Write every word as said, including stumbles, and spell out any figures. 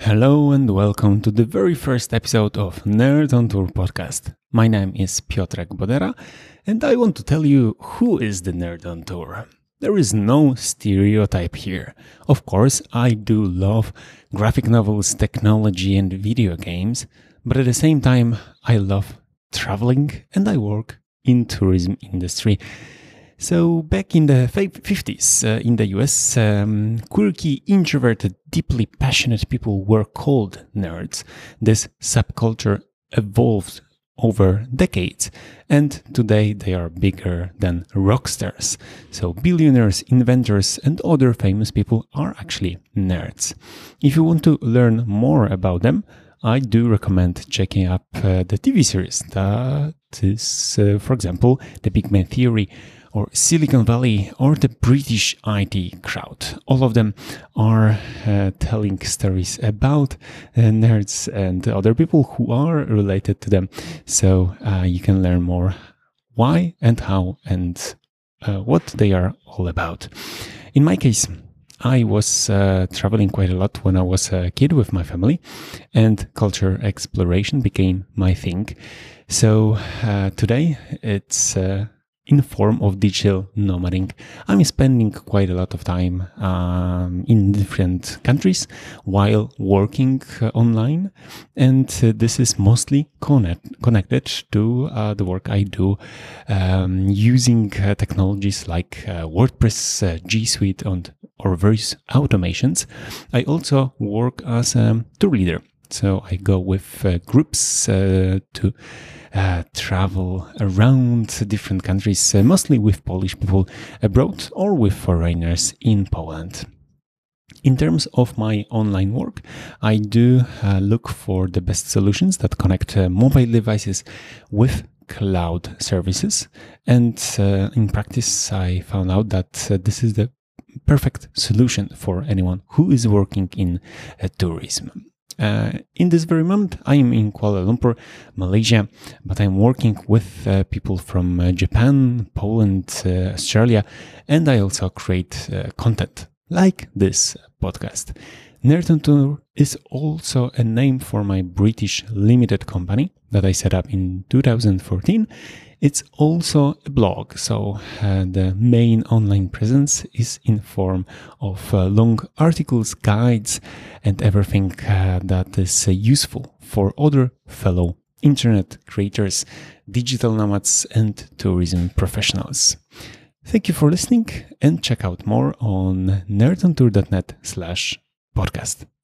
Hello and welcome to the very first episode of Nerd on Tour podcast. My name is Piotrek Bodera and I want to tell you who is the Nerd on Tour. There is no stereotype here. Of course, I do love graphic novels, technology and video games, but at the same time, I love traveling and I work in tourism industry. So back in the fifties uh, in the U S, um, quirky, introverted, deeply passionate people were called nerds. This subculture evolved over decades, and today they are bigger than rock stars. So billionaires, inventors, and other famous people are actually nerds. If you want to learn more about them, I do recommend checking up uh, the T V series that is, uh, for example, The Big Bang Theory, or Silicon Valley, or the British I T crowd. All of them are uh, telling stories about uh, nerds and other people who are related to them. So uh, you can learn more why and how and uh, what they are all about. In my case, I was uh, traveling quite a lot when I was a kid with my family, and culture exploration became my thing. So uh, today it's uh, in form of digital nomading. I'm spending quite a lot of time um, in different countries while working uh, online, and uh, this is mostly connect- connected to uh, the work I do um, using uh, technologies like uh, WordPress, uh, G Suite, and or various automations. I also work as a tour leader. So I go with uh, groups uh, to uh, travel around different countries, uh, mostly with Polish people abroad or with foreigners in Poland. In terms of my online work, I do uh, look for the best solutions that connect uh, mobile devices with cloud services. And uh, in practice, I found out that uh, this is the perfect solution for anyone who is working in uh, tourism. Uh, in this very moment, I am in Kuala Lumpur, Malaysia, but I'm working with uh, people from uh, Japan, Poland, uh, Australia, and I also create uh, content like this podcast. Nerd on Tour is also a name for my British limited company that I set up in two thousand fourteen. It's also a blog, so uh, the main online presence is in form of uh, long articles, guides, and everything uh, that is uh, useful for other fellow internet creators, digital nomads, and tourism professionals. Thank you for listening, and check out more on nerdontour.net slash podcast.